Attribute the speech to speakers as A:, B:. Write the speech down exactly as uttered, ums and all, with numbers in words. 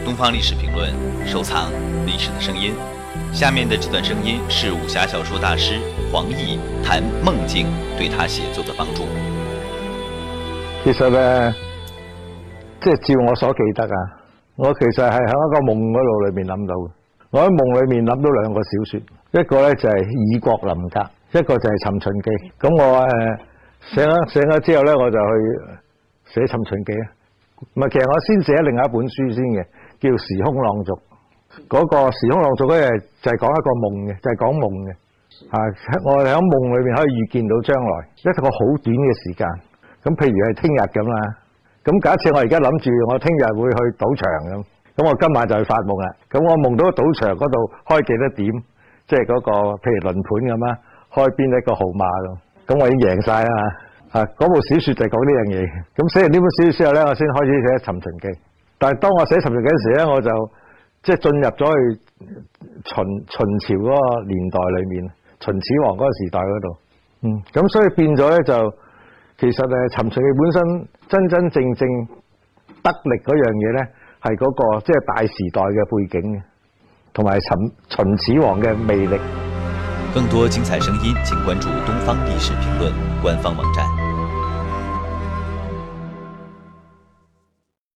A: 东方历史评论，收藏历史的声音。下面的这段声音是武侠小说大师黄易谈梦境对他寫作的幫助。
B: 其實咧，即係照我所記得啊，我其實係喺一個夢嗰度裏面諗到嘅。我喺夢裏面諗到兩個小說，一個咧就係《異國臨格》，一個就係《尋秦記》。咁我誒醒咗醒咗之後咧，我就去寫《尋秦記》啊。唔係，其實我先寫另外一本書先嘅，叫《時空朗讀》。嗰、那個《時空朗讀》咧就係講一個夢嘅，就係、是、講夢嘅。啊，我哋喺夢裏面可以預見到將來一個好短嘅時間。咁譬如係聽日咁啦。咁假設我而家諗住我聽日會去賭場咁，咁我今晚就去發夢啦。咁我夢到賭場嗰度開幾多點，即係嗰個譬如輪盤咁啦，開邊一個號碼咁，咁我已經贏晒啦。啊，嗰部小說就係講呢樣嘢。咁寫完呢本小說之後咧，我先開始寫《尋秦記》。但係當我寫《尋秦記》嗰時咧，我就即係進入咗去秦秦朝嗰個年代裏面，秦始皇嗰個時代嗰度。嗯，咁所以變咗咧就，其實誒《尋秦記》本身真真正正得力嗰樣嘢咧，係嗰個即係大時代嘅背景嘅，同埋秦秦始皇嘅魅力。
A: 更多精彩聲音，請關注東方歷史評論官方網站。